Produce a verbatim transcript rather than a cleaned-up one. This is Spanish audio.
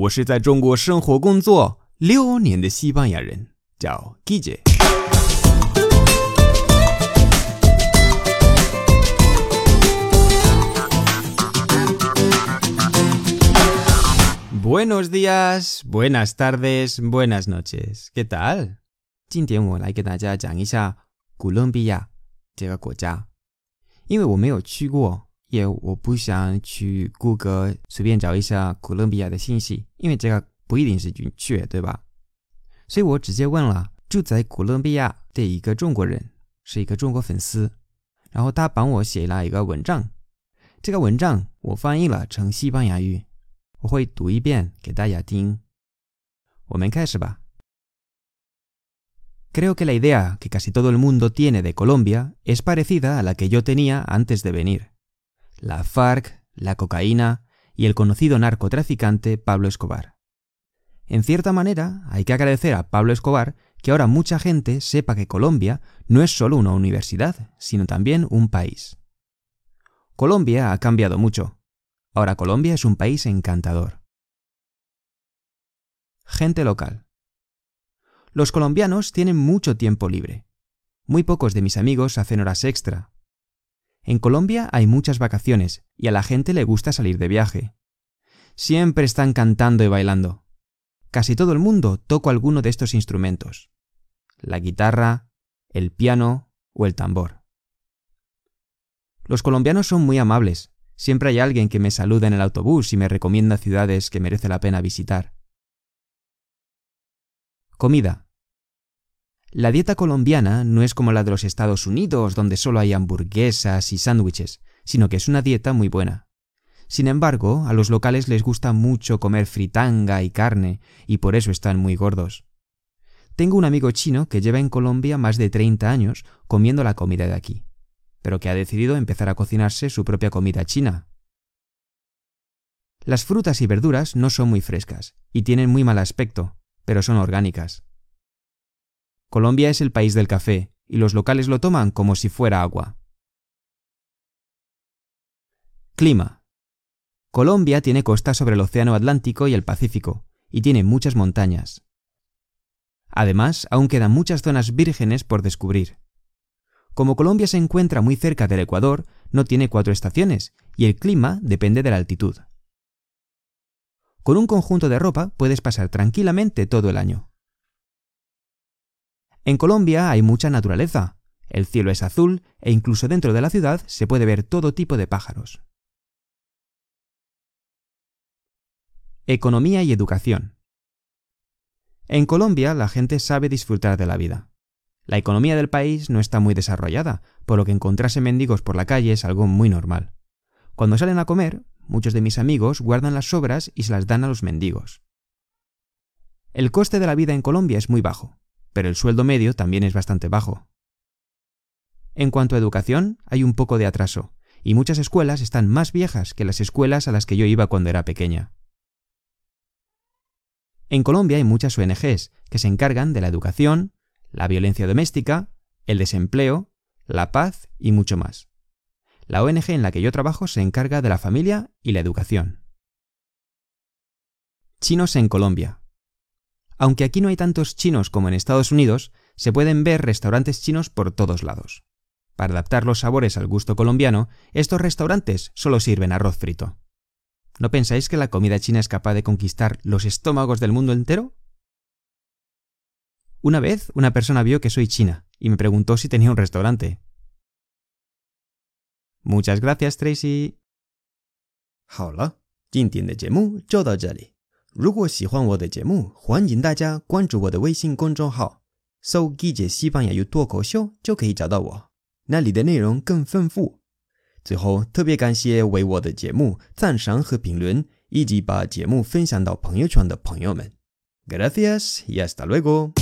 我是在中国生活工作六年的西班牙人，叫 Guille。Buenos días, buenas tardes, buenas noches. ¿Qué tal? 今天我来给大家讲一下哥伦比亚这个国家，因为我没有去过，也我不想去谷歌随便找一下哥伦比亚的信息，因为这个不一定是准确，对吧？所以我直接问了住在哥伦比亚的一个中国人，是一个中国粉丝，然后他帮我写了一个文章，这个文章我翻译了成西班牙语，我会读一遍给大家听。我们开始吧。Creo que la idea que casi todo el mundo tiene de Colombia es parecida a la que yo tenía antes de venir. La FARC, la cocaína y el conocido narcotraficante Pablo Escobar. En cierta manera, hay que agradecer a Pablo Escobar que ahora mucha gente sepa que Colombia no es solo una universidad, sino también un país. Colombia ha cambiado mucho. Ahora Colombia es un país encantador. Gente local. Los colombianos tienen mucho tiempo libre. Muy pocos de mis amigos hacen horas extra. En Colombia hay muchas vacaciones y a la gente le gusta salir de viaje. Siempre están cantando y bailando. Casi todo el mundo toca alguno de estos instrumentos. La guitarra, el piano o el tambor. Los colombianos son muy amables. Siempre hay alguien que me saluda en el autobús y me recomienda ciudades que merece la pena visitar. Comida. La dieta colombiana no es como la de los Estados Unidos, donde solo hay hamburguesas y sándwiches, sino que es una dieta muy buena. Sin embargo, a los locales les gusta mucho comer fritanga y carne, y por eso están muy gordos. Tengo un amigo chino que lleva en Colombia más de treinta años comiendo la comida de aquí, pero que ha decidido empezar a cocinarse su propia comida china. Las frutas y verduras no son muy frescas, y tienen muy mal aspecto, pero son orgánicas. Colombia es el país del café, y los locales lo toman como si fuera agua. Clima. Colombia tiene costa sobre el Océano Atlántico y el Pacífico, y tiene muchas montañas. Además, aún quedan muchas zonas vírgenes por descubrir. Como Colombia se encuentra muy cerca del Ecuador, no tiene cuatro estaciones, y el clima depende de la altitud. Con un conjunto de ropa puedes pasar tranquilamente todo el año. En Colombia hay mucha naturaleza, el cielo es azul e incluso dentro de la ciudad se puede ver todo tipo de pájaros. Economía y educación. En Colombia la gente sabe disfrutar de la vida. La economía del país no está muy desarrollada, por lo que encontrarse mendigos por la calle es algo muy normal. Cuando salen a comer, muchos de mis amigos guardan las sobras y se las dan a los mendigos. El coste de la vida en Colombia es muy bajo, pero el sueldo medio también es bastante bajo. En cuanto a educación, hay un poco de atraso, y muchas escuelas están más viejas que las escuelas a las que yo iba cuando era pequeña. En Colombia hay muchas O N Ges que se encargan de la educación, la violencia doméstica, el desempleo, la paz y mucho más. La O N Ge en la que yo trabajo se encarga de la familia y la educación. Chinos en Colombia. Aunque aquí no hay tantos chinos como en Estados Unidos, se pueden ver restaurantes chinos por todos lados. Para adaptar los sabores al gusto colombiano, estos restaurantes solo sirven arroz frito. ¿No pensáis que la comida china es capaz de conquistar los estómagos del mundo entero? Una vez, una persona vio que soy china y me preguntó si tenía un restaurante. Muchas gracias, Tracy. 好了，今天的节目就到这里。如果喜欢我的节目，欢迎大家关注我的微信公众号，搜“Guille西班牙语脱口秀”就可以找到我，那里的内容更丰富。最后，特别感谢为我的节目赞赏和评论，以及把节目分享到朋友圈的朋友们。Gracias y hasta luego.